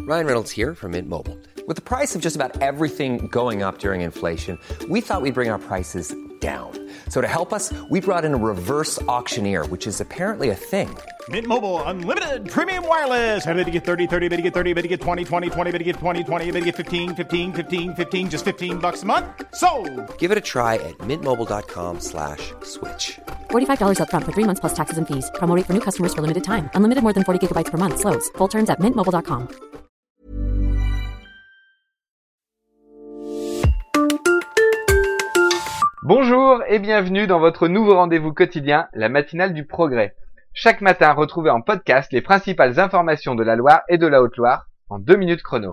Ryan Reynolds here from Mint Mobile. With the price of just about everything going up during inflation, we thought we'd bring our prices down. So to help us, we brought in a reverse auctioneer, which is apparently a thing. Mint Mobile Unlimited Premium Wireless. How to get 30, 30, bit to get 30, bit to get 20, 20, 20, bit to get 20, 20, bit to get 15, 15, 15, 15, just $15 a month? Sold! Give it a try at mintmobile.com/switch. $45 up front for 3 months plus taxes and fees. Promo rate for new customers for limited time. Unlimited more than 40 gigabytes per month. Slows full terms at mintmobile.com. Bonjour et bienvenue dans votre nouveau rendez-vous quotidien, la matinale du progrès. Chaque matin, retrouvez en podcast les principales informations de la Loire et de la Haute-Loire en 2 minutes chrono.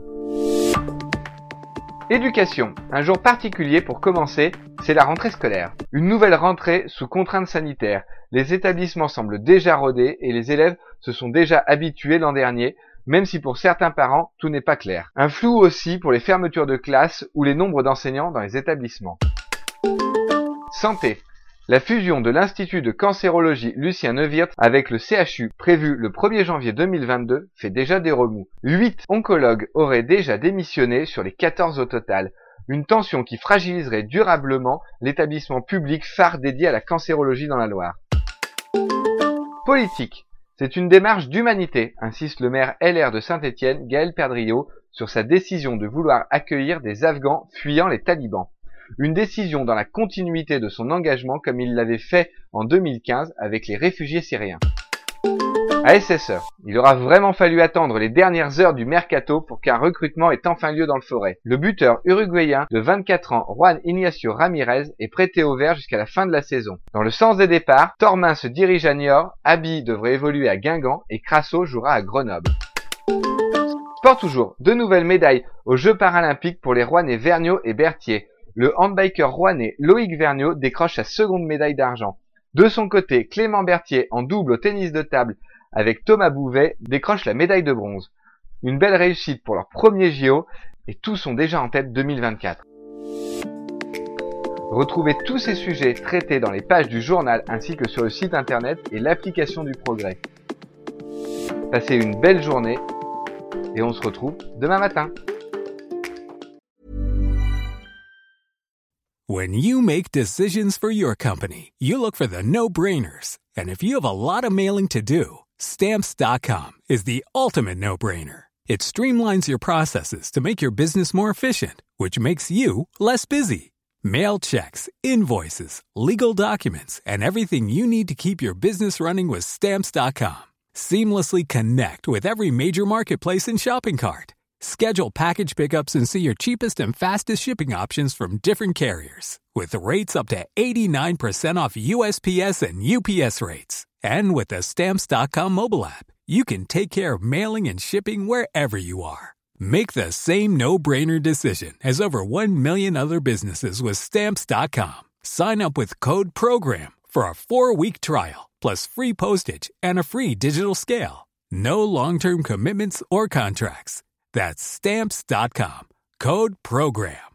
Éducation. Un jour particulier pour commencer, c'est la rentrée scolaire. Une nouvelle rentrée sous contraintes sanitaires. Les établissements semblent déjà rodés et les élèves se sont déjà habitués l'an dernier, même si pour certains parents, tout n'est pas clair. Un flou aussi pour les fermetures de classes ou les nombres d'enseignants dans les établissements. Santé. La fusion de l'Institut de cancérologie Lucien Neuwirth avec le CHU prévue le 1er janvier 2022 fait déjà des remous. 8 oncologues auraient déjà démissionné sur les 14 au total. Une tension qui fragiliserait durablement l'établissement public phare dédié à la cancérologie dans la Loire. Politique. C'est une démarche d'humanité, insiste le maire LR de Saint-Étienne, Gaël Perdriau, sur sa décision de vouloir accueillir des Afghans fuyant les talibans. Une décision dans la continuité de son engagement comme il l'avait fait en 2015 avec les réfugiés syriens. À SSE, il aura vraiment fallu attendre les dernières heures du mercato pour qu'un recrutement ait enfin lieu dans le Forêt. Le buteur uruguayen de 24 ans, Juan Ignacio Ramirez, est prêté au vert jusqu'à la fin de la saison. Dans le sens des départs, Tormin se dirige à Niort, Abi devrait évoluer à Guingamp et Crasso jouera à Grenoble. Sport toujours, 2 nouvelles médailles aux Jeux paralympiques pour les Rouennais Vergniaud et Berthier. Le handbiker rouennais Loïc Vergniaud décroche sa seconde médaille d'argent. De son côté, Clément Berthier, en double au tennis de table avec Thomas Bouvet, décroche la médaille de bronze. Une belle réussite pour leur premier JO et tous sont déjà en tête 2024. Retrouvez tous ces sujets traités dans les pages du journal ainsi que sur le site internet et l'application du Progrès. Passez une belle journée et on se retrouve demain matin. When you make decisions for your company, you look for the no-brainers. And if you have a lot of mailing to do, Stamps.com is the ultimate no-brainer. It streamlines your processes to make your business more efficient, which makes you less busy. Mail checks, invoices, legal documents, and everything you need to keep your business running with Stamps.com. Seamlessly connect with every major marketplace and shopping cart. Schedule package pickups and see your cheapest and fastest shipping options from different carriers. With rates up to 89% off USPS and UPS rates. And with the Stamps.com mobile app, you can take care of mailing and shipping wherever you are. Make the same no-brainer decision as over 1 million other businesses with Stamps.com. Sign up with code PROGRAM for a 4-week trial, plus free postage and a free digital scale. No long-term commitments or contracts. That's Stamps.com. Code PROGRAM.